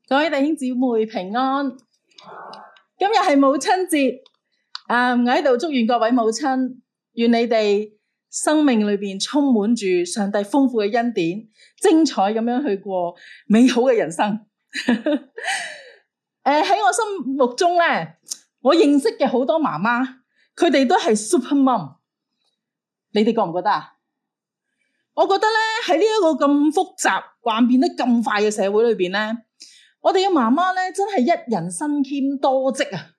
各位弟兄姊妹平安。今日係母親節，我喺度祝願各位母親，願你哋生命裏邊充滿住上帝豐富嘅恩典，精彩咁樣去過美好嘅人生。喺我心目中咧，我認識嘅好多媽媽，佢哋都係 super mom。你哋覺唔覺得啊？我覺得咧，喺呢一個咁複雜、幻變得咁快嘅社會裏邊咧，我哋嘅媽媽咧真係一人身兼多職啊！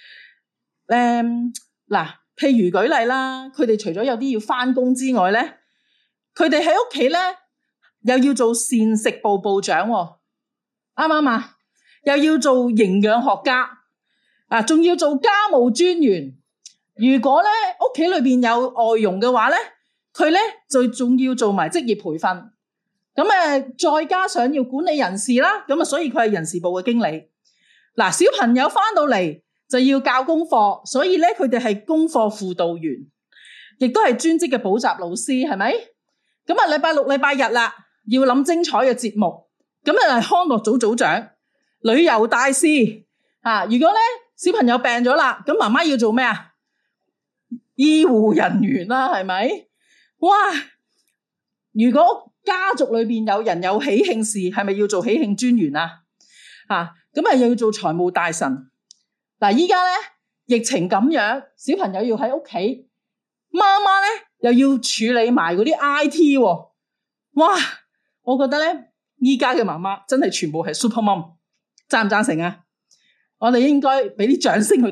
譬如舉例啦，佢哋除咗有啲要返工之外咧，佢哋喺屋企咧又要做膳食部部長，啱唔啱啊？又要做營養學家啊，仲要做家務專員。如果咧屋企裏邊有外傭嘅話咧，佢咧就仲要做埋職業培訓。咁再加上要管理人事啦，咁所以佢係人事部嘅經理。小朋友返到嚟就要教功課，所以咧佢哋係功課輔導員，亦都係專職嘅補習老師，係咪？咁禮拜六、禮拜日啦，要諗精彩嘅節目。咁係康樂組組長、旅遊大使啊。如果咧小朋友病咗啦，咁媽媽要做咩啊？醫護人員啦，係咪？哇！如果家族裏邊有人有喜慶事，係咪要做喜慶專員啊？咁又要做財務大臣。依家咧疫情咁樣，小朋友要喺屋企，媽媽咧又要處理埋嗰啲 IT 喎。哇！我覺得咧，依家嘅媽媽真係全部係 super mom， 贊唔贊成啊？我哋應該俾啲掌聲佢哋。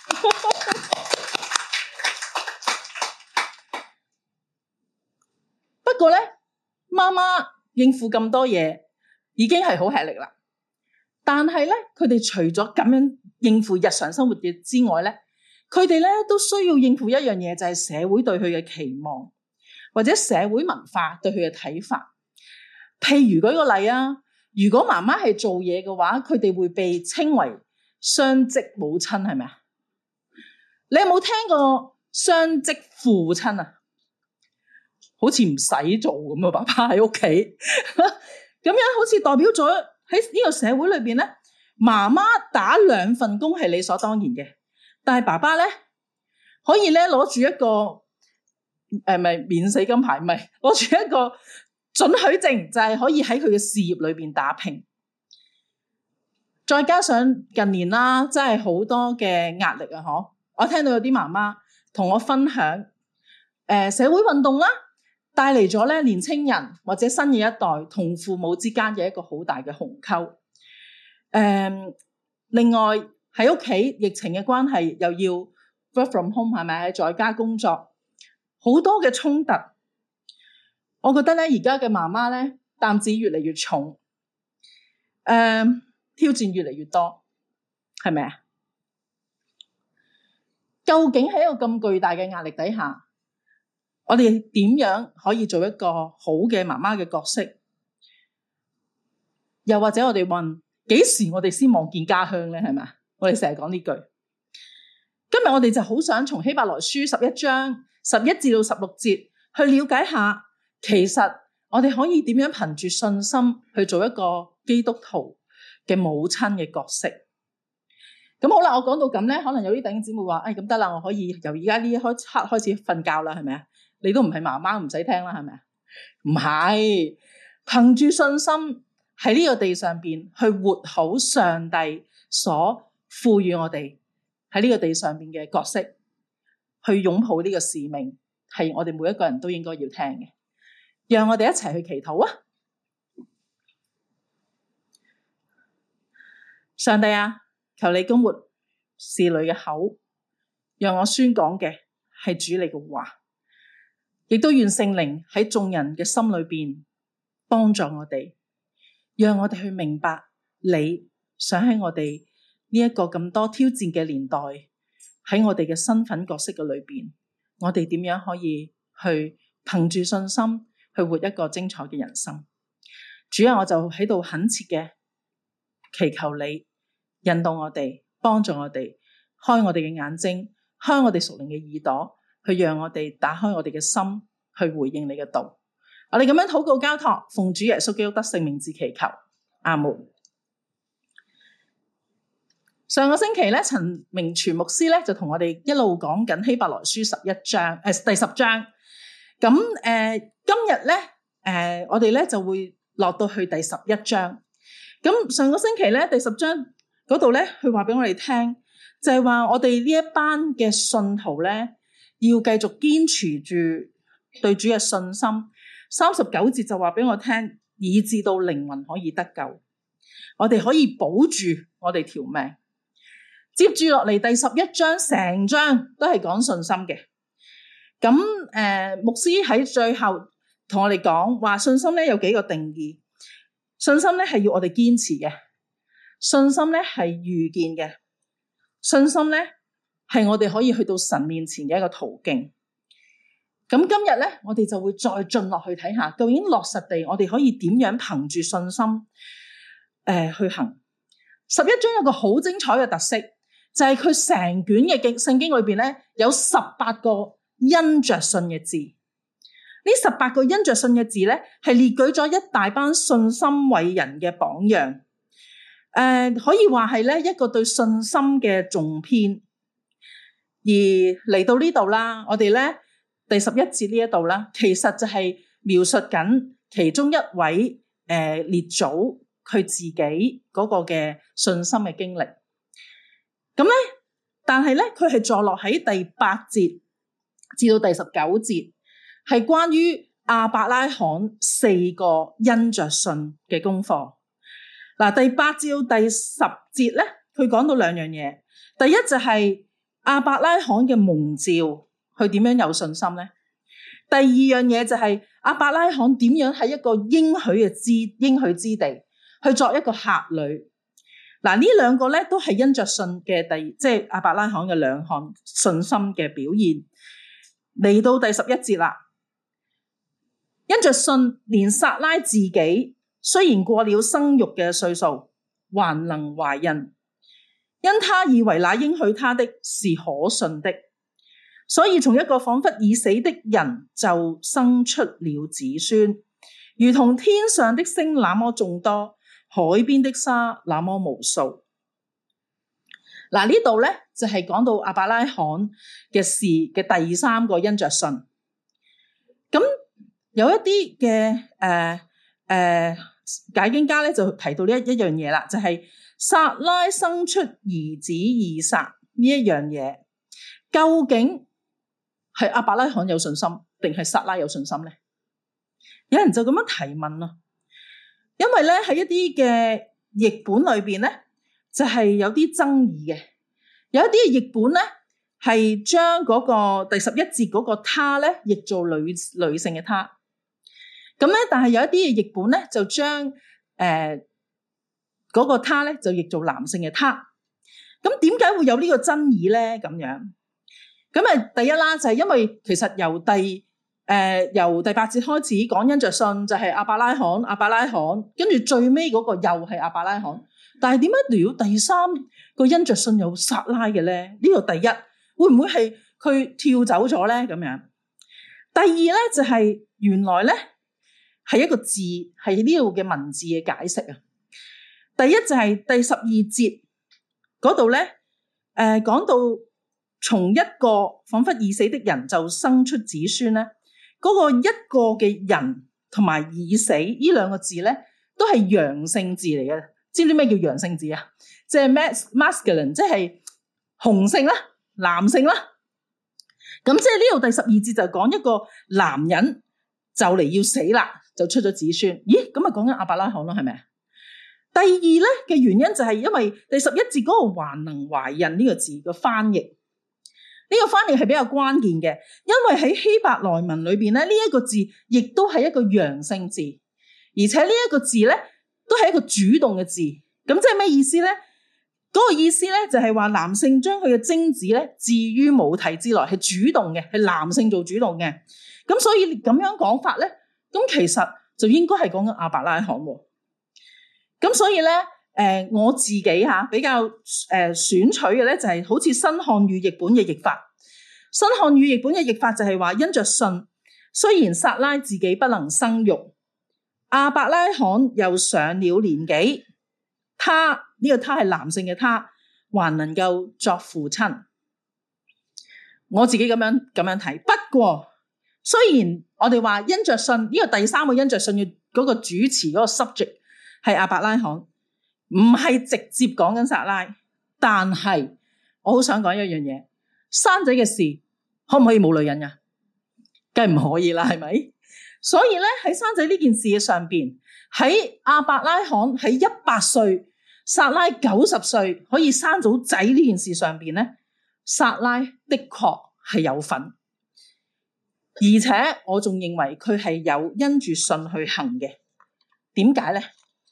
不過咧，媽媽應付咁多嘢已經係好吃力啦。但係咧，佢哋除咗咁樣應付日常生活嘅之外咧，佢哋咧都需要應付一樣嘢，就係社會對佢嘅期望，或者社會文化對佢嘅睇法。譬如舉個例啊，如果媽媽係做嘢嘅話，佢哋會被稱為雙職母親，係咪啊？你有冇聽過雙職父親啊？好似唔使做咁啊！爸爸喺屋企，咁樣好似代表咗喺呢個社會裏邊咧，媽媽打兩份工係理所當然嘅，但係爸爸咧可以咧攞住一個免死金牌，唔係攞住一個准許證，就係可以喺佢嘅事業裏邊打拼。再加上近年啦，真係好多嘅壓力啊！我聽到有啲媽媽同我分享，社會運動啦，帶嚟咗咧年青人或者新嘅一代同父母之間嘅一個好大嘅鴻溝。另外喺屋企疫情嘅關係，又要 work from home， 係咪喺在家工作，好多嘅衝突。我覺得咧而家嘅媽媽咧擔子越嚟越重，挑戰越嚟越多，係咪啊？究竟喺一個咁巨大嘅壓力底下，我哋點樣可以做一個好嘅媽媽嘅角色？又或者我哋問，幾時我哋先望見家鄉咧？係咪？我哋成日講呢句。今日我哋就好想從希伯來書11章11至到16節去了解下，其實我哋可以點樣憑住信心去做一個基督徒嘅母親嘅角色。咁好啦，我講到咁咧，可能有啲弟兄姊妹話，咁得啦，我可以由而家呢一刻開始瞓覺啦，係咪啊？你都唔係媽媽，唔使聽啦，係咪啊？唔係，憑住信心喺呢個地上邊去活好上帝所賦予我哋喺呢個地上邊嘅角色，去擁抱呢個使命，係我哋每一個人都應該要聽嘅。讓我哋一齊去祈禱啊！上帝啊，求你膏抹侍女嘅口，讓我宣講嘅係主你嘅話。亦都願聖靈喺眾人嘅心裏邊幫助我哋，讓我哋去明白你想喺我哋呢一個咁多挑戰嘅年代，喺我哋嘅身份角色嘅裏邊，我哋點樣可以去憑住信心去活一個精彩嘅人生。主啊，我就喺度懇切嘅祈求你引導我哋，幫助我哋，開我哋嘅眼睛，開我哋屬靈嘅耳朵，去讓我哋打開我哋嘅心，去回應你嘅道。我哋咁樣禱告交託，奉主耶穌基督得聖名字祈求，阿門。 上個星期咧，陳明全牧師咧就同我哋一路講緊希伯來書第10章。咁今日咧我哋咧就會落到去第11章。咁上個星期咧第10章嗰度咧，佢話俾我哋聽，就係話我哋呢一班嘅信徒咧，要繼續堅持住對主嘅信心。39節就話俾我聽，以致到靈魂可以得救，我哋可以保住我哋條命。接住落嚟第11章，成章都係講信心嘅。咁牧師喺最後同我哋講話，信心咧有幾個定義。信心咧係要我哋堅持嘅，信心咧係預見嘅，信心咧係我哋可以去到神面前嘅一個途徑。咁今日咧，我哋就會再進落去睇下，究竟落實地我哋可以點樣憑住信心去行。11章有個好精彩嘅特色，就係佢成卷嘅聖經裏邊咧，有18個因着信嘅字。呢18個因着信嘅字咧，係列舉咗一大班信心偉人嘅榜樣。可以話係咧一個對信心嘅重篇。而嚟到呢度啦，我哋咧第11節呢一度啦，其實就係描述緊其中一位列祖佢自己嗰個嘅信心嘅經歷。咁咧，但係咧，佢係坐落喺第8節至到第19節，係關於亞伯拉罕4個因着信嘅功課。嗱，第8至到第10節咧，佢講到兩樣嘢。第一就係亞伯拉罕嘅蒙召，佢點樣有信心咧？第二樣嘢就係亞伯拉罕點樣喺一個應許之地去作一個客旅。嗱，呢兩個咧都係因着信嘅即係亞伯拉罕嘅兩項信心嘅表現。嚟到第11節啦，因着信，連撒拉自己雖然過了生育嘅歲數，還能懷孕，因他以為那應許他的是可信的，所以從一個仿佛已死的人就生出了子孫，如同天上的星那麼眾多，海邊的沙那麼無數。嗱，呢度咧就係講到亞伯拉罕嘅事嘅第3個因着信。咁有一啲嘅解經家咧就提到呢一樣嘢啦，就係撒拉生出兒子以撒呢一樣嘢，究竟係亞伯拉罕有信心定係撒拉有信心咧？有人就咁樣提問啦。因為咧喺一啲嘅譯本裏邊咧，就係有啲爭議嘅。有一啲嘅譯本咧係將嗰個第11節嗰個他咧譯做女性嘅他。咁咧，但係有一啲嘅譯本咧就將嗰個他咧就譯做男性嘅他。咁點解會有呢個爭議咧？咁樣咁第一啦，就係因為其實由第8節開始講因着信就係亞伯拉罕，跟住最尾嗰個又係亞伯拉罕，但係點解聊到第3個因着信有撒拉嘅咧？呢個第一會唔會係佢跳走咗咧？咁樣第二咧就係原來咧係一個字，係呢度嘅文字嘅解釋啊。第一就係第12節嗰度咧，講到從一個仿佛已死的人就生出子孫咧。嗰個一個嘅人同埋已死呢兩個字咧，都係陽性字嚟嘅。知唔知咩叫陽性字啊？即係 masculine， 即係雄性啦、男性啦。咁即係呢度第12節就講一個男人就嚟要死啦，就出咗子孫。咦，咁啊講緊亞伯拉罕咯，係咪啊？第二咧嘅原因就係因為第11節嗰個還能懷孕呢個字嘅翻譯。呢個翻譯係比較關鍵嘅，因為喺希伯來文裏邊咧，呢一個字亦都係一個陽性字，而且呢一個字咧都係一個主動嘅字。咁即係咩意思咧？嗰個意思咧就係話男性將佢嘅精子咧置於母體之內，係主動嘅，係男性做主動嘅。咁所以咁樣講法咧，咁其實就應該係講緊亞伯拉罕。咁所以咧。我自己比較選取嘅咧就係好似新漢語譯本嘅譯法。新漢語譯本嘅譯法就係話因着信，雖然撒拉自己不能生育，亞伯拉罕又上了年紀，他呢個他係男性嘅他， 還能夠作父親。我自己咁樣睇。不過雖然我哋話因着信呢個第三個因着信嘅嗰個主持嗰個 subject 係亞伯拉罕，唔係直接講緊撒拉，但係我好想講一樣嘢，生仔嘅事可唔可以冇女人呀？梗係唔可以啦，係咪？所以咧喺生仔呢件事嘅上邊，喺亞伯拉罕喺100歲，撒拉90歲可以生到仔呢件事上邊咧，撒拉的確係有份，而且我仲認為佢係有因住信去行嘅。點解咧？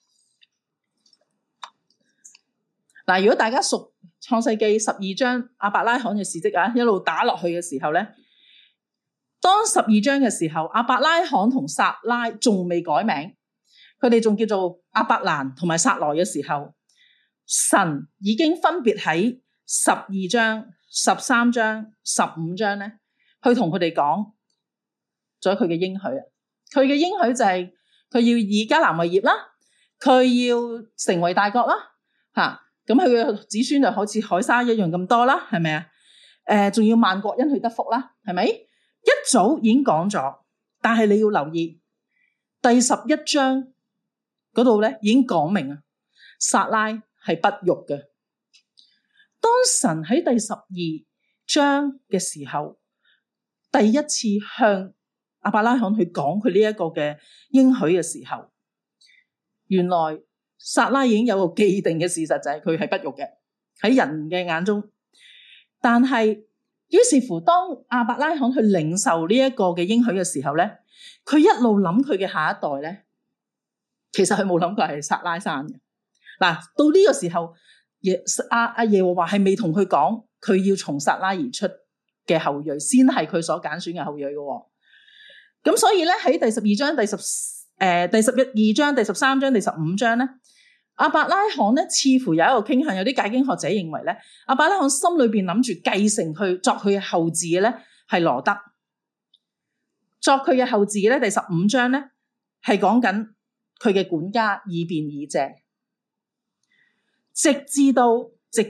嗱，如果大家熟創世記12章亞伯拉罕嘅事蹟啊，一路打落去嘅時候咧，當12章嘅時候，亞伯拉罕同撒拉仲未改名，佢哋仲叫做亞伯蘭同埋撒萊嘅時候，神已經分別喺12章、13章、15章咧，去同佢哋講咗佢嘅應許啊。佢嘅應許就係佢要以迦南為業啦，佢要成為大國啦，吓。咁佢嘅子孫就好似海沙一樣咁多啦，係咪啊？仲要萬國因佢得福啦，係咪？一早已經講咗，但係你要留意第11章嗰度咧，已經講明啊，撒拉係不育嘅。當神喺第12章嘅時候，第一次向亞伯拉罕去講佢呢一個嘅應許嘅時候，原來撒拉已經有個既定嘅事實，就係佢係不育嘅喺人嘅眼中。但係於是乎，當亞伯拉罕去領受呢一個嘅應許嘅時候咧，佢一路諗佢嘅下一代咧，其實佢冇諗過係撒拉生嘅。嗱，到呢個時候，耶和華係未同佢講，佢要從撒拉而出嘅後裔先係佢所揀選嘅後裔嘅。咁所以咧喺第12章、第12章、第13章、第15章咧，亞伯拉罕咧似乎有一個傾向，有啲解經學者認為咧，亞伯拉罕心裏邊諗住繼承佢作佢嘅後嗣嘅咧係羅得，作佢嘅後嗣嘅咧第15章咧係講緊佢嘅管家以便以謝，直至到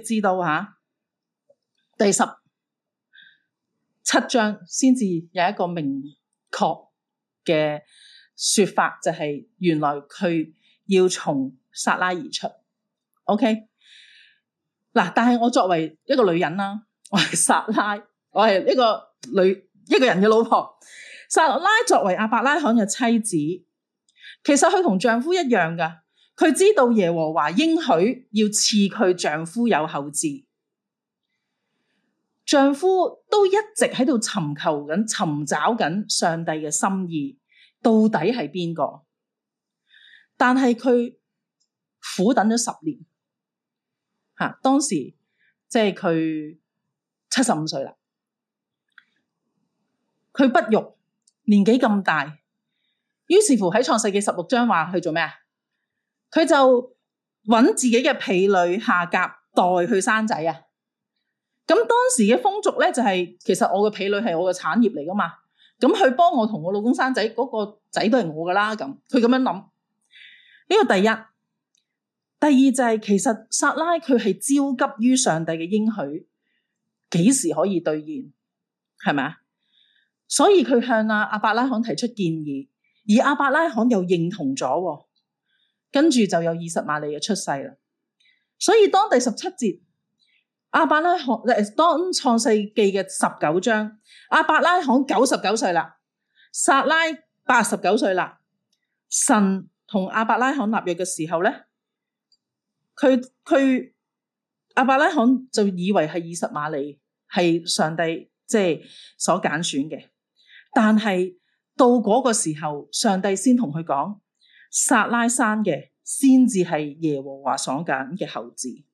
第17章先至有一個明確嘅說法，就係原來佢要從撒拉而出。 OK 嗱，但係我作為一個女人啦，我係撒拉，我係一個人嘅老婆。撒拉作為亞伯拉罕嘅妻子，其實佢同丈夫一樣噶，佢知道耶和華應許要賜佢丈夫有後嗣，丈夫都一直喺度尋找緊上帝嘅心意，到底係邊個？但係佢苦等咗10年，當時即係佢75歲啦，佢不育，年紀咁大，於是乎喺創世記16章話去做咩啊？佢就揾自己嘅婢女夏甲代去生仔啊！咁當時嘅風俗咧就係，其實我嘅婢女係我嘅產業嚟噶嘛，咁佢幫我同我老公生仔，嗰個仔都係我噶啦，咁佢咁樣諗。呢個第一。第二就係，其實撒拉佢係焦急於上帝嘅應許幾時可以兌現，係咪啊？所以佢向亞伯拉罕提出建議，而亞伯拉罕又認同咗，跟住就有以實瑪利嘅出世啦。所以當第17節亞伯拉罕當創世記嘅19章，亞伯拉罕99歲啦，撒拉89歲啦，神同亞伯拉罕立約嘅時候咧，佢亞伯拉罕就以為係以實瑪利係上帝即係所揀選嘅，但係到嗰個時候，上帝先同佢講，撒拉生嘅先至係耶和華所揀嘅後嗣。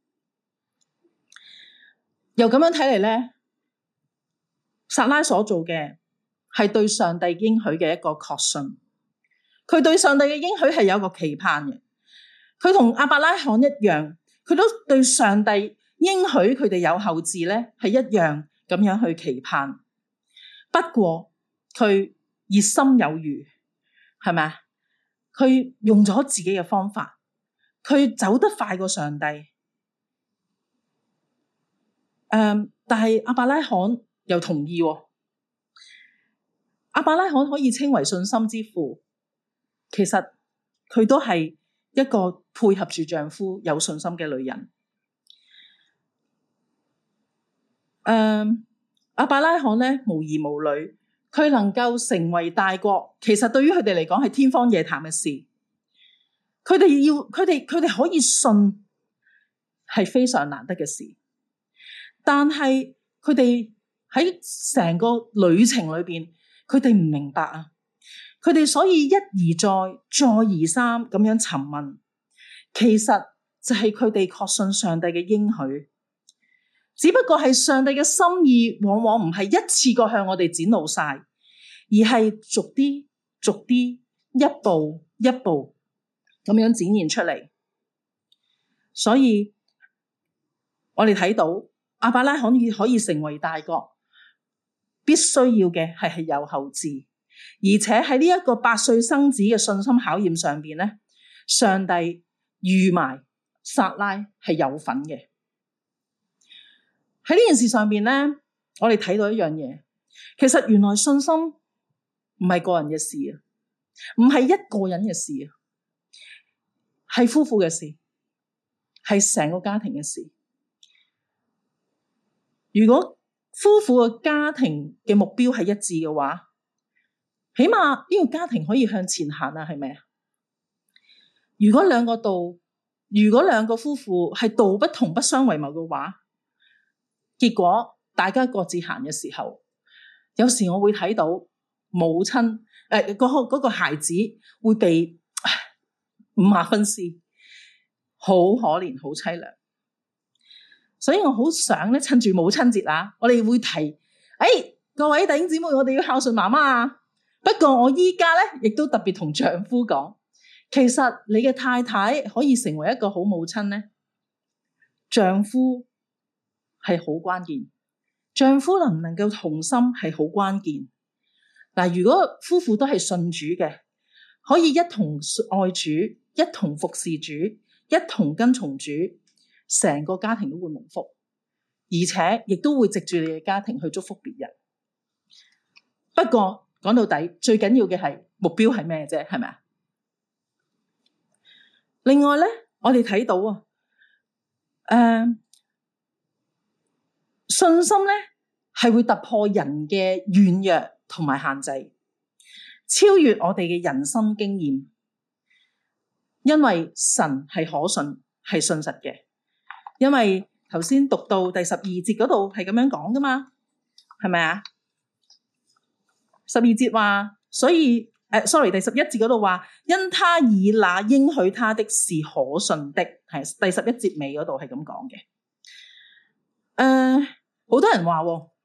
又咁樣睇嚟咧，撒拉所做嘅係對上帝應許嘅一個確信，佢對上帝嘅應許係有一個期盼嘅。佢同亞伯拉罕一樣，佢都對上帝應許佢哋有後嗣咧，係一樣咁樣去期盼。不過佢熱心有餘，係咪啊？佢用咗自己嘅方法，佢走得快過上帝。 但係亞伯拉罕又同意喎。亞伯拉罕可以稱為信心之父，其實佢都係一個配合住丈夫有信心嘅女人。亞伯拉罕咧無兒無女，佢能夠成為大國，其實對於佢哋嚟講係天方夜譚嘅事。佢哋可以信係非常難得嘅事，但係佢哋喺成個旅程裏邊，佢哋唔明白啊！佢哋所以一而再、再而三咁樣詢問，其實就係佢哋確信上帝嘅應許。只不過係上帝嘅心意，往往唔係一次過向我哋展露晒，而係逐啲、逐啲、一步一步咁樣展現出嚟。所以我哋睇到亞伯拉罕可以成為大國，必須要嘅係有後嗣，而且喺呢一個8歲生子嘅信心考驗上邊咧，上帝預埋撒拉係有份嘅。喺呢件事上邊咧，我哋睇到一樣嘢，其實原來信心唔係個人嘅事啊，唔係一個人嘅事啊，係夫婦嘅事，係成個家庭嘅事。如果夫婦嘅家庭嘅目標係一致嘅話，起碼呢個家庭可以向前行啊，係咪啊？如果兩個夫婦係道不同不相為謀嘅話，結果大家各自行嘅時候，有時我會睇到母親嗰個孩子會被50分屍，好可憐，好淒涼。所以我好想咧，趁住母親節啊，我哋會提，各位弟兄姊妹，我哋要孝順媽媽啊。不過我依家咧，亦都特別同丈夫講，其實你嘅太太可以成為一個好母親咧，丈夫係好關鍵，丈夫能唔能夠同心係好關鍵。嗱，如果夫婦都係信主嘅，可以一同愛主，一同服侍主，一同跟從主，成個家庭都會蒙福，而且亦都會藉住你嘅家庭去祝福別人。不過講到底，最緊要嘅係目標係咩啫？係咪啊？另外咧，我哋睇到信心咧係會突破人嘅軟弱同埋限制，超越我哋嘅人生經驗，因為神係可信，係信實嘅。因為頭先讀到第12節嗰度係咁樣講噶嘛，係咪啊？12節話，所以第11節嗰度話，因他以那應許他的是可信的，係第11節尾嗰度係咁講嘅。好多人話，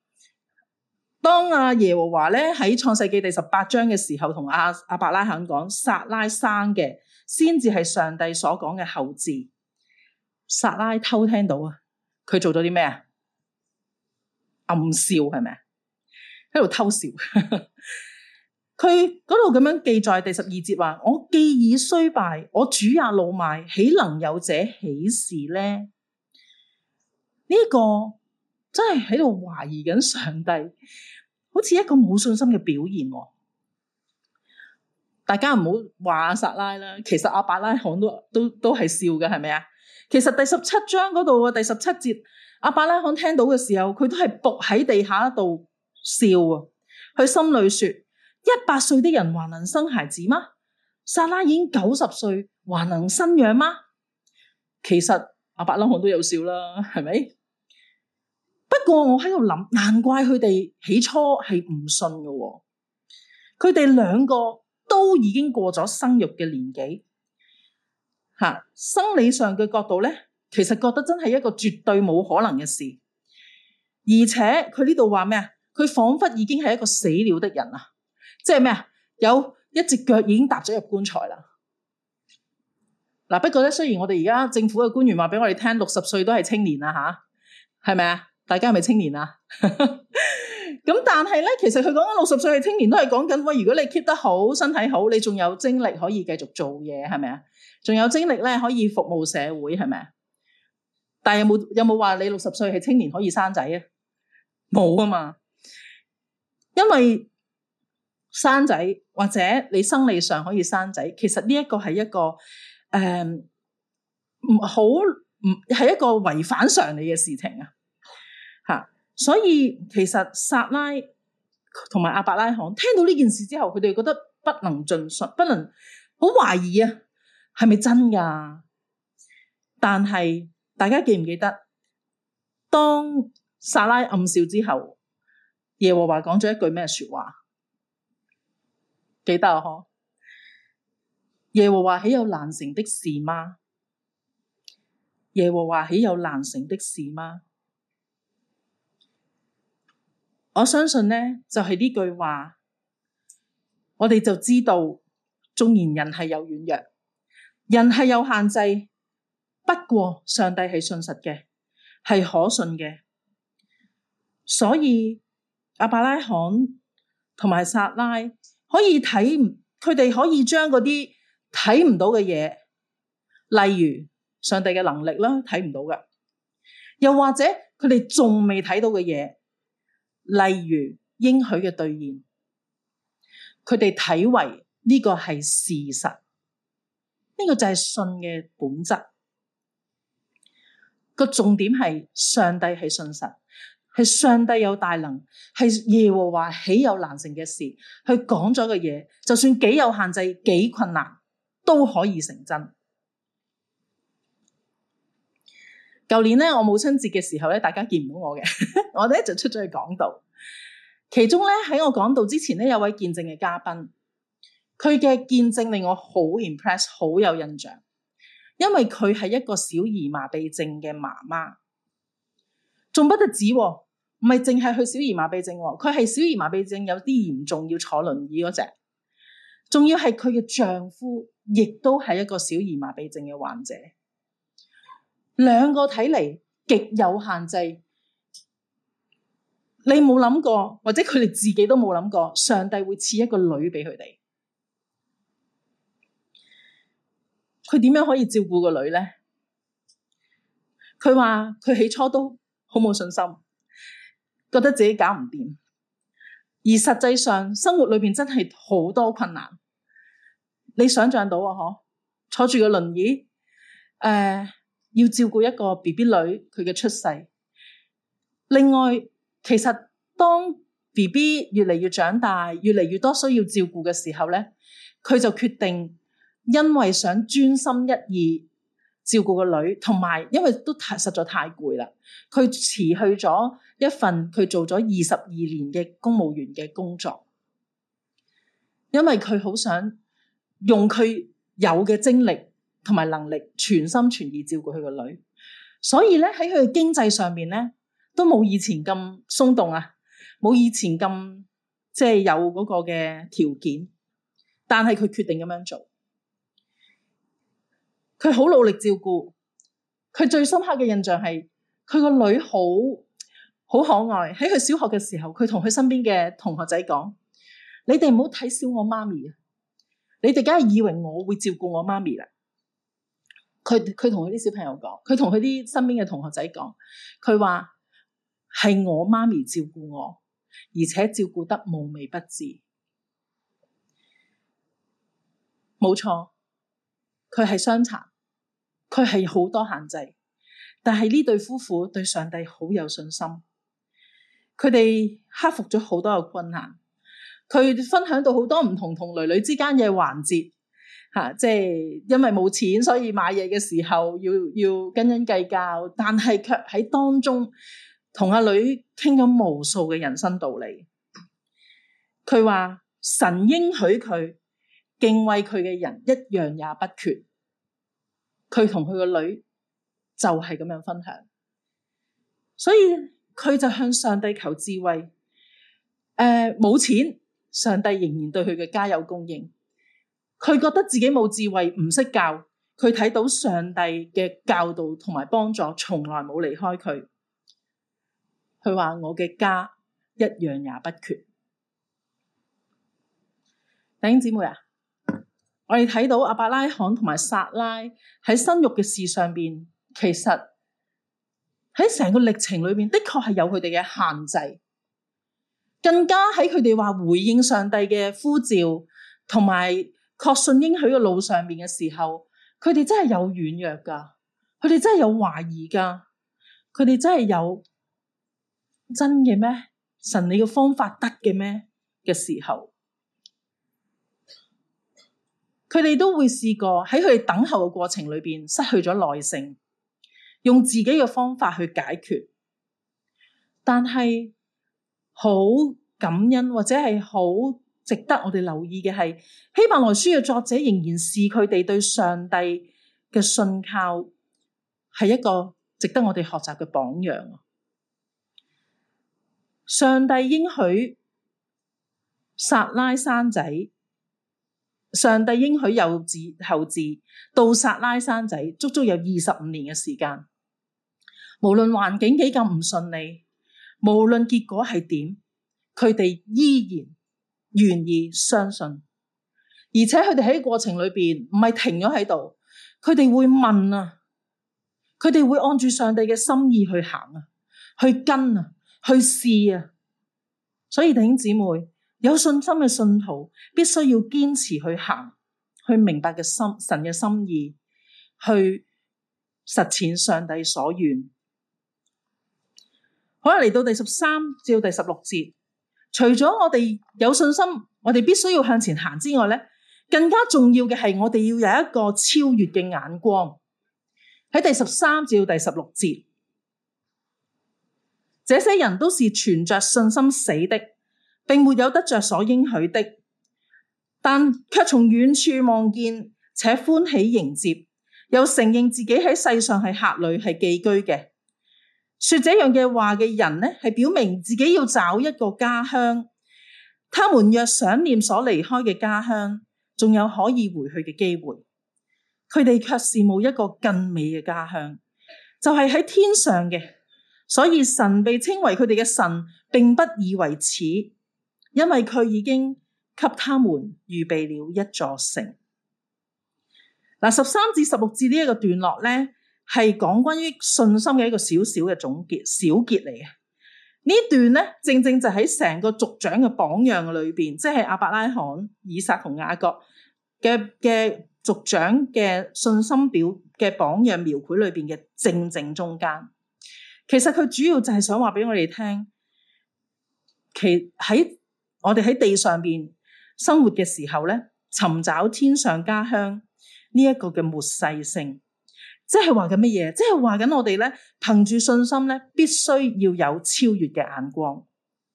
當耶和華咧喺創世記第18章嘅時候，同亞伯拉罕講，撒拉生嘅先至係上帝所講嘅後嗣。撒拉偷聽到啊，佢做咗啲咩啊？暗笑係咪啊？喺度偷笑。佢嗰度咁樣記載第12節話：我既已衰敗，我主也老邁，豈能有這喜事呢？呢個真係喺度懷疑緊上帝，好似一個冇信心嘅表現。大家唔好話撒拉啦，其實亞伯拉罕都係笑嘅，係咪啊？其實第17章嗰度第17節，亞伯拉罕聽到嘅時候，佢都係伏喺地下度笑啊！佢心裏說：100歲的人還能生孩子嗎？撒拉已經90歲，還能生養嗎？其實亞伯拉罕都有笑啦，係咪？不過我喺度諗，難怪佢哋起初係唔信嘅。佢哋兩個都已經過咗生育嘅年紀，生理上嘅角度咧，其實覺得真係一個絕對冇可能嘅事。而且佢呢度話咩啊？佢仿佛已經係一個死了的人啊！即係咩啊？有一隻腳已經踏咗入棺材啦。嗱，不過咧，雖然我哋而家政府嘅官員話俾我哋聽，60歲都係青年啦，係咪啊？大家係咪青年啊？咁但係咧，其實佢講緊60歲係青年，都係講緊喂，如果你 keep 得好，身體好，你仲有精力可以繼續做嘢，係咪啊？仲有精力咧可以服務社會，係咪啊？ 但係有冇話你60歲係青年可以生仔啊？冇啊嘛，因為生仔或者你生理上可以生仔，其實呢一個係一個係一個違反常理嘅事情啊！吓，所以其實撒拉同埋亞伯拉罕聽到呢件事之後，佢哋覺得不能盡信，不能好懷疑啊，係咪真噶？但係大家記唔記得，當撒拉暗笑之後，耶和華講咗一句咩說話？記得啊？嗬，耶和華豈有難成的事嗎？耶和華豈有難成的事嗎？我相信呢，就係呢句話，我哋就知道，縱然人係有軟弱，人係有限制，不過上帝係信實嘅，係可信嘅。所以亞伯拉罕同埋撒拉可以睇，佢哋可以將嗰啲睇唔到嘅嘢，例如上帝嘅能力啦，睇唔到嘅，又或者佢哋仲未睇到嘅嘢，例如應許嘅兌現，佢哋睇為呢個係事實，呢個就係信嘅本質。個重點係上帝係信實，係上帝有大能，係耶和華豈有難成嘅事，佢講咗嘅嘢，就算幾有限制、幾困難，都可以成真。舊年咧，我母親節嘅時候咧，大家見唔到我嘅，我哋就出咗去講道。其中咧，喺我講道之前咧，有位見證嘅嘉賓，佢嘅見證令我好 impress， 好有印象，因為佢係一個小兒麻痹症嘅媽媽，仲不得止，唔係淨係佢小兒麻痹症，佢係小兒麻痹症有啲嚴重要坐輪椅嗰隻，仲要係佢嘅丈夫，亦都係一個小兒麻痹症嘅患者。兩個睇嚟極有限制，你冇諗過，或者佢哋自己都冇諗過，上帝會賜一個女俾佢哋。佢點樣可以照顧個女呢？佢話佢起初都好冇信心，覺得自己搞唔掂，而實際上生活裏邊真係好多困難。你想象到啊？嗬，坐住個輪椅，要照顧一個 BB 女，佢嘅出世。另外，其實當 BB 越嚟越長大，越嚟越多需要照顧嘅時候咧，佢就決定，因為想專心一意照顧個女，同埋因為都實在太攰啦，佢辭去咗一份佢做咗22年嘅公務員嘅工作，因為佢好想用佢有嘅精力同埋能力全心全意照顧佢個女，所以咧喺佢嘅經濟上面咧都冇以前咁鬆動啊，冇以前咁即係有嗰個嘅條件，但係佢決定咁樣做，佢好努力照顧。佢最深刻嘅印象係佢個女好可愛。喺佢小學嘅時候，佢同佢身邊嘅同學仔講：你哋唔好睇小我媽咪啊！你哋梗係以為我會照顧我媽咪啦。佢同佢啲小朋友講，佢同佢啲身邊嘅同學仔講，佢話係我媽咪照顧我，而且照顧得無微不至。冇錯，佢係傷殘，佢係好多限制，但係呢對夫婦對上帝好有信心，佢哋克服咗好多嘅困難。佢分享到好多唔同女女之間嘅環節。即係因為冇錢，所以買嘢嘅時候要斤計較，但係卻喺當中同阿女傾咗無數嘅人生道理。佢話神應許佢敬畏佢嘅人一樣也不缺。佢同佢個女就係咁樣分享，所以佢就向上帝求智慧。冇錢，上帝仍然對佢嘅家有供應。佢覺得自己冇智慧，唔識教，佢睇到上帝嘅教導同埋幫助從來冇離開佢。佢話我嘅家一樣也不缺。弟兄姊妹啊，我哋睇到亞伯拉罕同埋撒拉喺生育嘅事上邊，其實喺成個歷程裏邊，的確係有佢哋嘅限制。更加喺佢哋話回應上帝嘅呼召，同埋確信應許嘅路上面嘅時候，佢哋真係有軟弱噶，佢哋真係有懷疑噶，佢哋真係有真嘅咩？神你嘅方法得嘅咩嘅時候，佢哋都會試過喺佢哋等候嘅過程裏邊失去咗耐性，用自己嘅方法去解決。但係好感恩或者係好值得我哋留意嘅係，希伯來書嘅作者仍然視佢哋對上帝嘅信靠係一個值得我哋學習嘅榜樣。上帝應許撒拉生仔，上帝應許有子後嗣，到撒拉生仔足足有25年嘅時間。無論環境幾咁唔順利，無論結果係點，佢哋依然願意相信，而且佢哋喺過程裏邊唔係停咗喺度，佢哋會問啊，佢哋會按住上帝嘅心意去行啊，去跟啊，去試啊。所以弟兄姊妹，有信心嘅信徒必須要堅持去行，去明白嘅神嘅心意，去實踐上帝所願。好啦，嚟到第13至到第16節，除咗我哋有信心，我哋必須要向前行之外咧，更加重要嘅係我哋要有一個超越嘅眼光。喺第13至到第16節，這些人都是存着信心死的，並沒有得着所應許的，但卻從遠處望見，且歡喜迎接，又承認自己喺世上係客旅，係寄居嘅。說這樣嘅話嘅人呢，係表明自己要找一個家鄉。他們若想念所離開嘅家鄉，仲有可以回去嘅機會，佢哋卻羨慕一個更美嘅家鄉，就係喺天上嘅。所以神被稱為佢哋嘅神，並不以為恥，因為佢已經給他們預備了一座城。嗱，13至16節呢一個段落咧，係講關於信心嘅一個小小嘅總結小結嚟嘅。呢段咧，正正就喺成個族長嘅榜樣裏邊，即係亞伯拉罕、以撒同雅各嘅族長嘅信心表嘅榜樣描繪裏邊嘅正中間。其實佢主要就係想話俾我哋聽，喺我哋喺地上邊生活嘅時候咧，尋找天上家鄉呢一個嘅末世性。即係話緊乜嘢？即係話緊我哋咧，憑住信心咧，必須要有超越嘅眼光。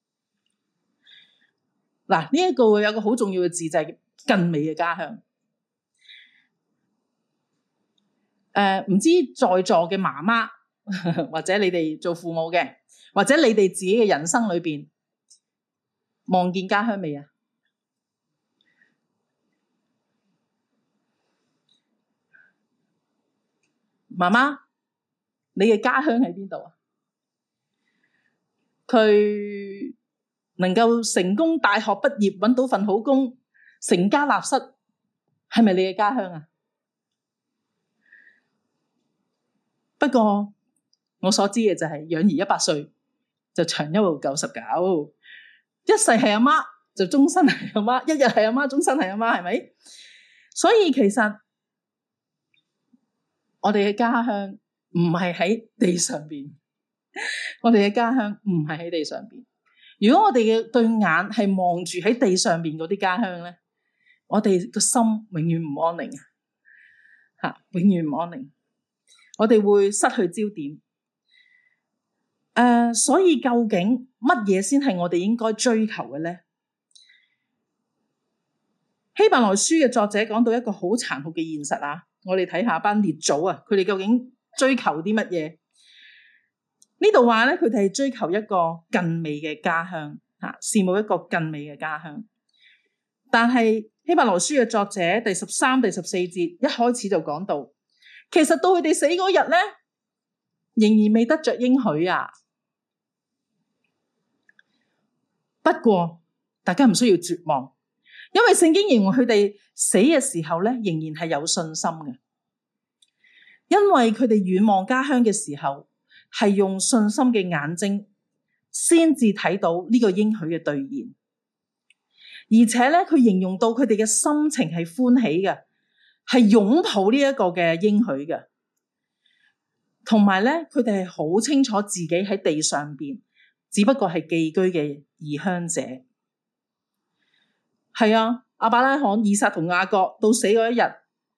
嗱，呢一個有個好重要嘅字就係更美嘅家鄉。唔知在座嘅媽媽或者你哋做父母嘅，或者你哋自己嘅人生裏邊望見家鄉未啊？媽媽，你嘅家鄉喺邊度啊？佢能夠成功大學畢業，搵到份好工，成家立室，係咪你嘅家鄉啊？不過我所知嘅就係養兒100歲，就長憂到99，一世係阿媽，就終身係阿媽，一日係阿媽，終身係阿媽，係咪？所以其實我哋嘅家鄉唔係喺地上邊，我哋嘅家鄉唔係喺地上邊。如果我哋嘅對眼係望住喺地上邊嗰啲家鄉咧，我哋個心永遠唔安寧啊！永遠唔安寧，我哋會失去焦點。所以究竟乜嘢先係我哋應該追求嘅咧？希伯來書嘅作者講到一個好殘酷嘅現實啊！我哋睇下班列祖啊，佢哋究竟追求啲乜嘢？呢度話咧，佢哋係追求一個更美嘅家鄉，羨慕一個更美嘅家鄉。但係希伯來書嘅作者第13、第14節一開始就講到，其實到佢哋死嗰日咧，仍然未得着應許啊。不過大家唔需要絕望，因為聖經形容佢哋死嘅時候咧，仍然係有信心嘅。因為佢哋遠望家鄉嘅時候， 係用信心嘅眼睛先至睇到呢個應許嘅兌現，而且咧佢形容到佢哋嘅心情係歡喜嘅，係擁抱呢一個嘅應許嘅，同埋咧佢哋係好清楚自己喺地上邊只不過係寄居嘅異鄉者。係啊，亞伯拉罕、以撒同雅各到死嗰一日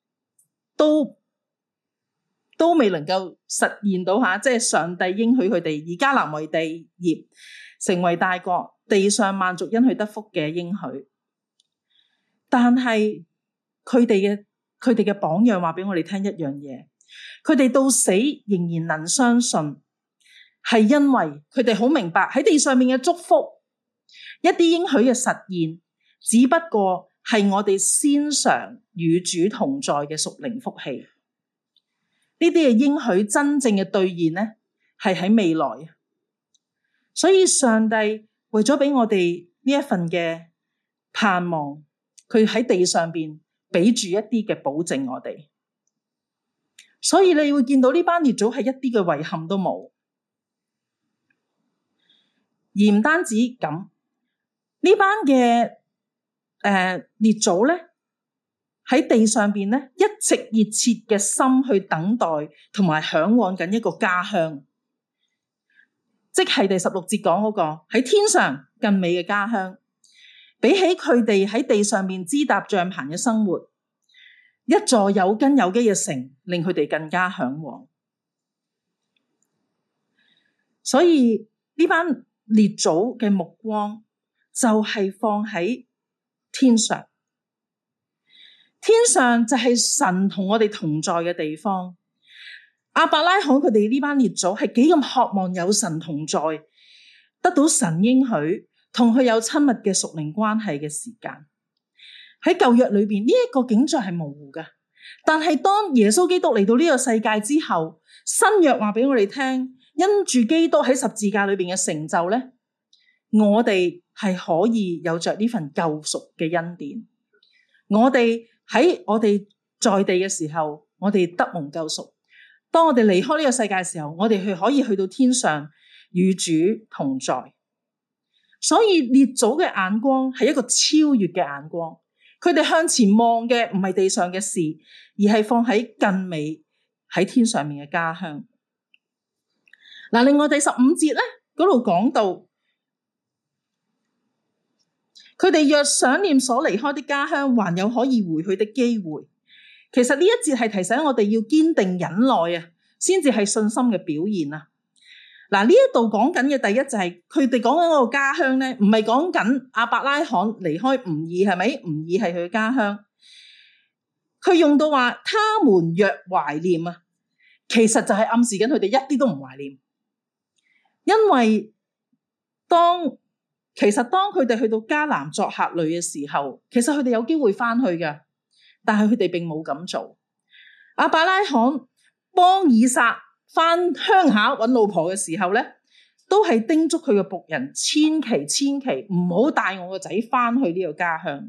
都未能夠實現到即係上帝應許佢哋以迦南為地業，成為大國，地上萬族因佢得福嘅應許。但係佢哋嘅榜樣話俾我哋聽一樣嘢，佢哋到死仍然能相信，係因為佢哋好明白喺地上面嘅祝福，一啲應許嘅實現，只不過係我哋先嘗與主同在嘅屬靈福氣。呢啲嘅應許真正嘅兌現呢，係喺未來。所以上帝為咗俾我哋呢一份嘅盼望，佢喺地上邊俾住一啲嘅保證我哋。所以你會見到呢班列祖係一啲嘅遺憾都冇，而唔單止咁，呢班嘅列祖咧喺地上邊咧一直熱切嘅心去等待同埋向往緊一個家鄉，即係第16節講嗰個喺天上更美嘅家鄉。比起佢哋喺地上面支搭帳棚嘅生活，一座有根有基嘅城令佢哋更加向往。所以呢班列祖嘅目光就係放喺天上，天上就係神同我哋同在嘅地方。亞伯拉罕佢哋呢班列祖係幾咁渴望有神同在，得到神應許同佢有親密嘅屬靈關係嘅時間。喺舊約裏邊呢一個景象係模糊嘅，但係當耶穌基督嚟到呢個世界之後，新約話俾我哋聽，因住基督喺十字架裏邊嘅成就咧，我哋係可以有着呢份救贖嘅恩典。我哋喺我哋在地嘅時候，我哋得蒙救贖。當我哋離開呢個世界嘅時候，我哋可以去到天上與主同在。所以列祖嘅眼光係一個超越嘅眼光，佢哋向前望嘅唔係地上嘅事，而係放喺更美喺天上面嘅家鄉。嗱，另外第15節咧嗰度講到，佢哋若想念所離開的家鄉，還有可以回去的機會。其實呢一節係提醒我哋要堅定忍耐啊，先至係信心嘅表現啊。嗱，呢一度講緊嘅第一就係佢哋講緊嗰個家鄉咧，唔係講緊亞伯拉罕離開吾爾，係咪？吾爾係佢嘅家鄉。佢用到話他們若懷念啊，其實就係暗示緊佢哋一啲都唔懷念，因為當佢哋去到迦南作客旅嘅時候，其實佢哋有機會翻去嘅，但係佢哋並冇咁做。亞伯拉罕幫以撒翻鄉下揾老婆嘅時候咧，都係叮囑佢嘅僕人千祈唔好帶我個仔翻去呢個家鄉。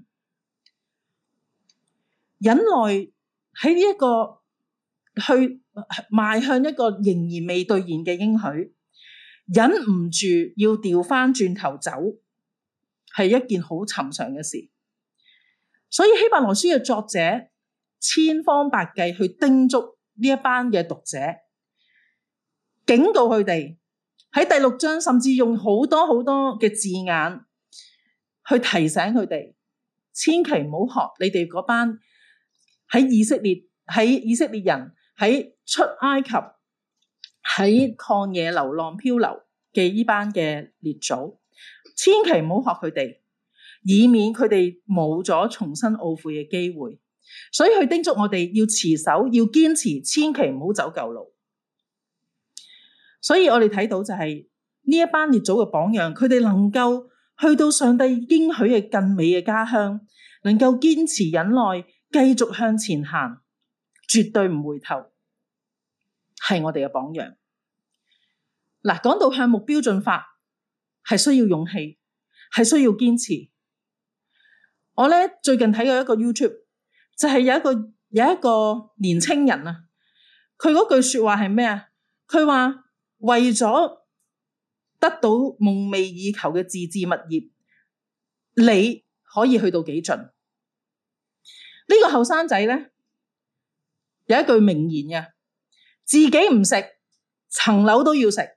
忍耐喺呢一個去邁向一個仍然未兌現嘅應許，忍唔住要調翻轉頭走，係一件好尋常嘅事。所以希伯來書嘅作者千方百計去叮囑呢一班嘅讀者，警告佢哋喺第6章，甚至用好多嘅字眼去提醒佢哋，千祈唔好學你哋嗰班喺以色列人喺出埃及喺曠野流浪漂流嘅呢班嘅列祖，千祈唔好學佢哋，以免佢哋冇咗重新懊悔嘅機會。所以佢叮囑我哋要持守，要堅持，千祈唔好走舊路。所以我哋睇到就係呢一班列祖嘅榜樣，佢哋能夠去到上帝應許嘅更美嘅家鄉，能夠堅持忍耐，繼續向前行，絕對唔回頭，係我哋嘅榜樣。嗱，講到向目標進發，係需要勇氣，係需要堅持。我咧最近睇過一個 YouTube， 就係有一個年青人啊，佢嗰句說話係咩啊？佢話為咗得到夢寐以求嘅自置物業，你可以去到幾盡？呢個後生仔咧有一句名言嘅，自己唔食，層樓都要食。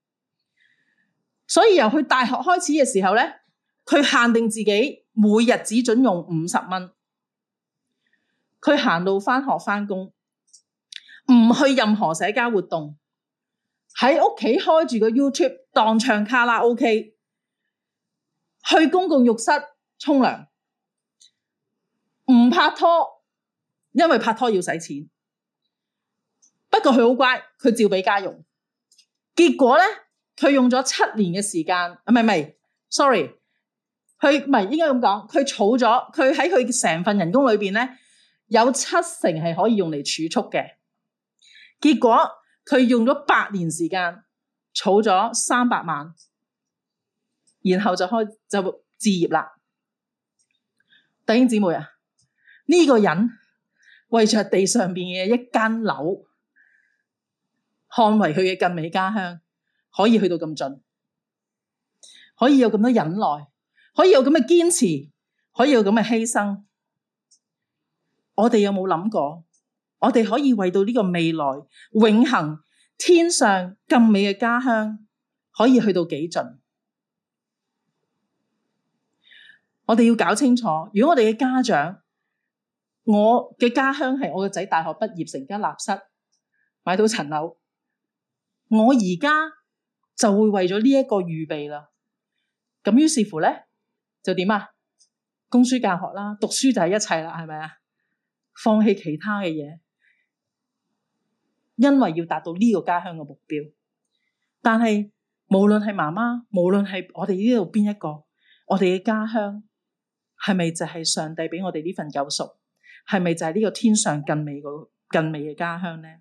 所以由佢大學開始嘅時候咧，佢限定自己每日只准用50蚊。佢行路返學返工，唔去任何社交活動，喺屋企開住個 YouTube 當唱卡拉 OK， 去公共浴室沖涼，唔拍拖，因為拍拖要使錢。不過佢好乖，佢照俾家用。結果咧，佢用咗7年嘅時間，唔係，sorry， 佢唔係應該咁講，佢儲咗，佢喺佢成份人工裏邊咧，有70%係可以用嚟儲蓄嘅。結果佢用咗8年時間，儲咗300萬，然後就置業啦。弟兄姊妹啊，呢個人為着地上邊嘅一間樓，捍衛佢嘅近美家鄉，可以去到咁盡，可以有咁多忍耐，可以有咁嘅堅持，可以有咁嘅犧牲。我哋有冇諗過，我哋可以為到呢個未來永恆天上更美嘅家鄉，可以去到幾盡？我哋要搞清楚，如果我哋嘅家長，我嘅家鄉係我個仔大學畢業成家立室，買到層樓，我而家就會為咗呢一個預備啦。咁於是乎咧，就點啊？供書教學啦，讀書就係一切啦，係咪啊？放棄其他嘅嘢，因為要達到呢個家鄉嘅目標。但係無論係媽媽，無論係我哋呢度邊一個，我哋嘅家鄉係咪就係上帝俾我哋呢份救贖？係咪就係呢個天上更美嘅家鄉呢？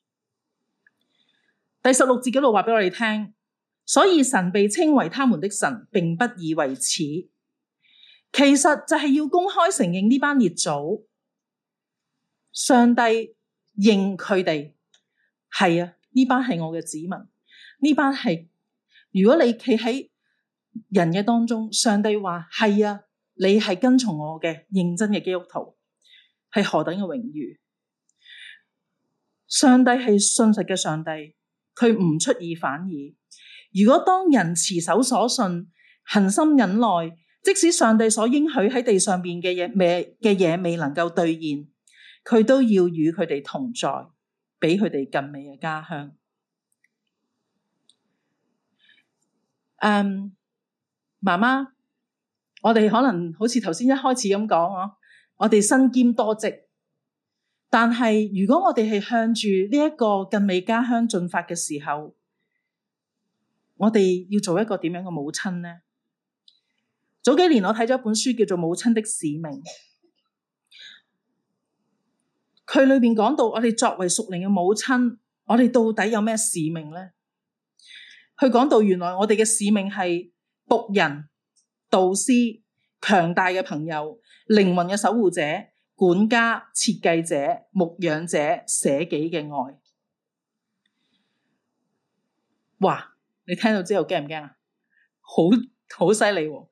第16節嗰度話俾我哋聽，所以神被稱為他們的神，並不以為恥。其實就係要公開承認呢班列祖，上帝認佢哋係啊，呢班係我嘅子民，呢班係，如果你企喺人嘅當中，上帝話係啊，你係跟從我嘅認真嘅基督徒，係何等嘅榮譽。上帝係信實嘅上帝，佢唔出爾反爾。如果當人持守所信，恆心忍耐，即使上帝所應許喺地上邊嘅嘢未能夠兌現，佢都要與佢哋同在，俾佢哋更美嘅家鄉。媽媽，我哋可能好似頭先一開始咁講，我哋身兼多職，但係如果我哋係向住呢一個更美家鄉進發嘅時候，我哋要做一個點樣嘅母親呢？早幾年我睇咗一本書叫做《母親的使命》，佢裏邊講到我哋作為屬靈嘅母親，我哋到底有咩使命呢？佢講到原來我哋嘅使命係僕人、導師、強大嘅朋友、靈魂嘅守護者、管家、設計者、牧養者、捨己嘅愛。哇！你聽到之後驚唔驚啊？好犀利喎！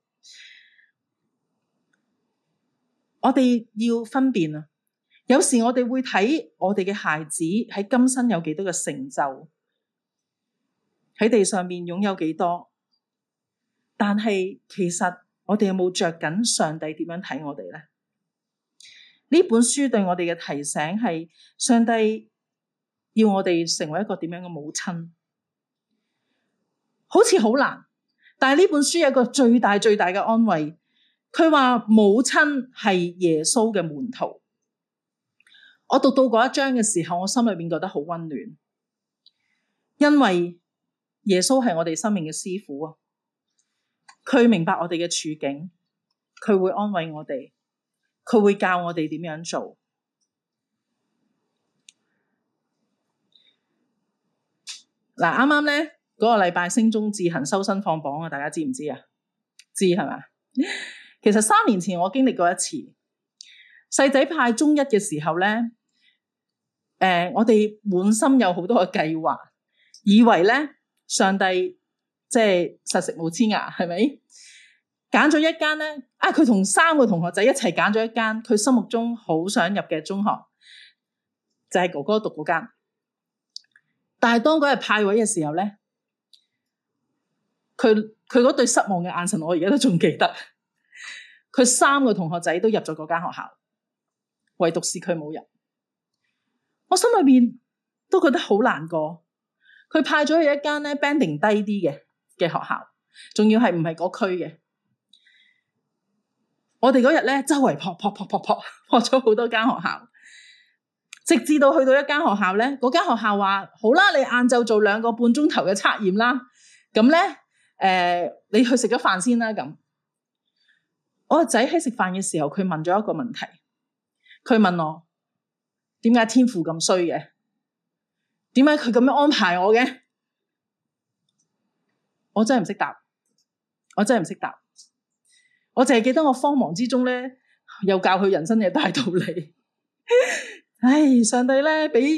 我哋要分辨啊，有時我哋會睇我哋嘅孩子喺今生有幾多嘅成就，喺地上面擁有幾多，但係其實我哋有冇着緊上帝點樣睇我哋呢？呢本書對我哋嘅提醒係，上帝要我哋成為一個點樣嘅母親，好似好難，但係呢本書有一個最大嘅安慰。佢話母親係耶穌嘅門徒。我讀到嗰一章嘅時候，我心裏面覺得好溫暖，因為耶穌係我哋生命嘅師傅啊！佢明白我哋嘅處境，佢會安慰我哋，佢會教我哋點樣做。嗱，啱啱咧嗰個禮拜升中自行收身放榜啊，大家知唔知啊？知係嘛？其實3年前我經歷過一次，細仔派中一嘅時候咧，我哋滿心有好多嘅計劃， 以為咧上帝即係實食冇黐牙，係咪？揀咗一間咧，佢同3個同學仔一齊揀咗一間佢心目中好想入嘅中學，就係哥哥讀嗰間。但係當嗰日派位嘅時候咧，佢嗰對失望嘅眼神，我而家都仲記得。佢3個同學仔都入咗嗰間學校，唯獨是佢冇入。我心裏邊都覺得好難過。佢派咗去一間咧 banding 低啲嘅學校，仲要係唔係嗰區嘅。我哋嗰日咧周圍撲咗好多間學校，直至到去到一間學校咧，嗰間學校話好啦，你晏晝做2個半鐘頭嘅測驗啦，咁咧你去食咗飯先啦。咁我個仔喺食飯嘅時候，佢問咗一個問題，佢問我點解天父咁衰嘅？點解佢咁樣安排我嘅？我真係唔識答，我淨係記得我慌忙之中咧，又教佢人生嘅大道理。唉，上帝咧俾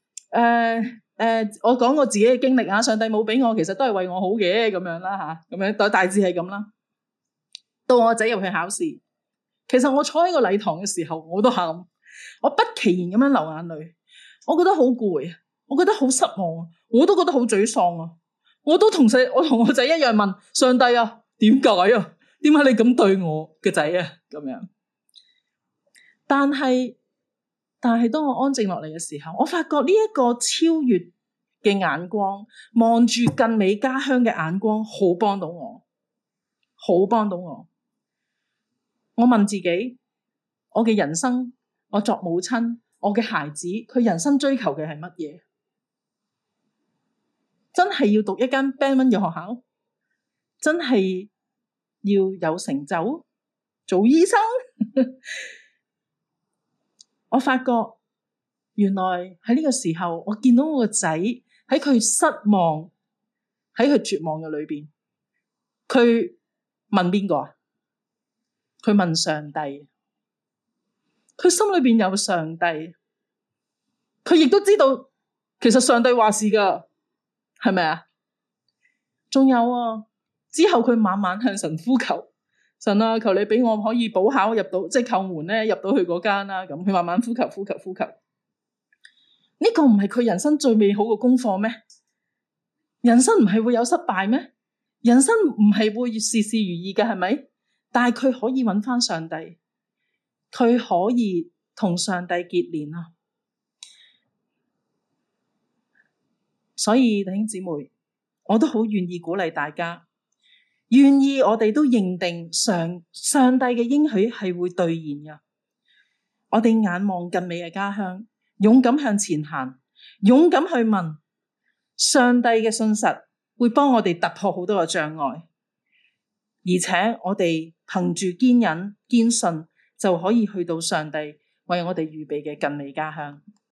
我講我自己嘅經歷啊，上帝冇俾我，其實都係為我好嘅，咁樣啦吓，咁樣大致係咁啦。到我仔入去考試，其實我坐喺個禮堂嘅時候，我都喊，我不其然咁樣流眼淚，我覺得好攰啊，我覺得好失望啊，我都覺得好沮喪啊，我同我仔一樣問上帝啊，點解啊？點解你咁對我嘅仔啊？咁樣，但係當我安靜落嚟嘅時候，我發覺呢一個超越嘅眼光，望住更美家鄉嘅眼光，好幫到我。我問自己，我嘅人生，我作母親，我嘅孩子，佢人生追求嘅係乜嘢？真係要讀一間 Band 1嘅學校？真係要有成就？做醫生？我發覺原來喺呢個時候，我見到我個仔喺佢失望，喺佢絕望嘅裏邊，佢問邊個啊？佢問上帝，佢心裏邊有上帝，佢亦都知道其實上帝話事噶，係咪啊？仲有啊，之後佢晚晚向神呼求，神啊，求你俾我可以補考入到，即係叩門咧入到去嗰間啦。咁佢慢慢呼求。呢個唔係佢人生最美好嘅功課咩？人生唔係會有失敗咩？人生唔係會事事如意嘅，係咪？但係佢可以揾翻上帝，佢可以同上帝結連啊！所以弟兄姊妹，我都好願意鼓勵大家，願意我哋都認定上帝嘅應許係會兌現嘅。我哋眼望更美嘅家鄉，勇敢向前行，勇敢去問上帝嘅信實，會幫我哋突破好多嘅障礙，而且我哋憑住堅忍堅信，就可以去到上帝為我哋預備嘅更美家鄉。